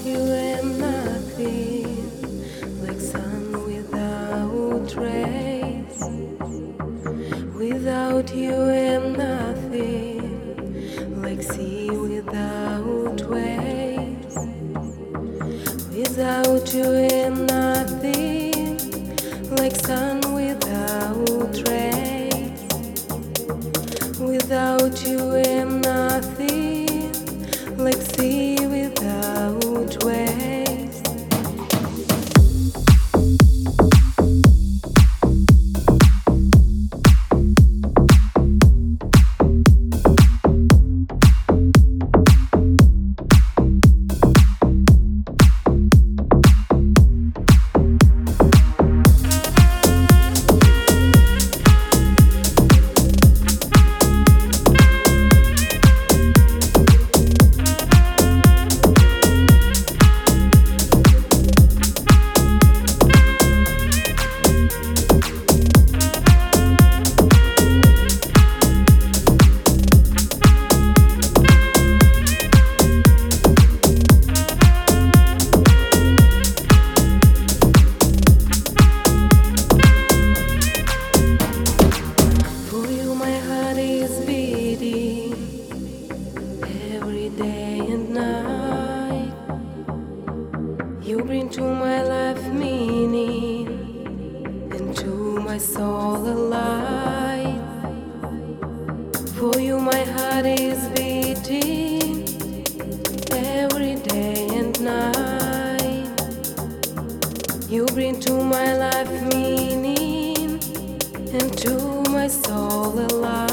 you am nothing, like sun without rays. Without you am nothing, like sea without waves. Without you am nothing, like sun without rays. Without you am nothing, like sea without waves. Every day and night, you bring to my life meaning, and to my soul a light. For you my heart is beating every day and night. You bring to my life meaning, and to my soul a light.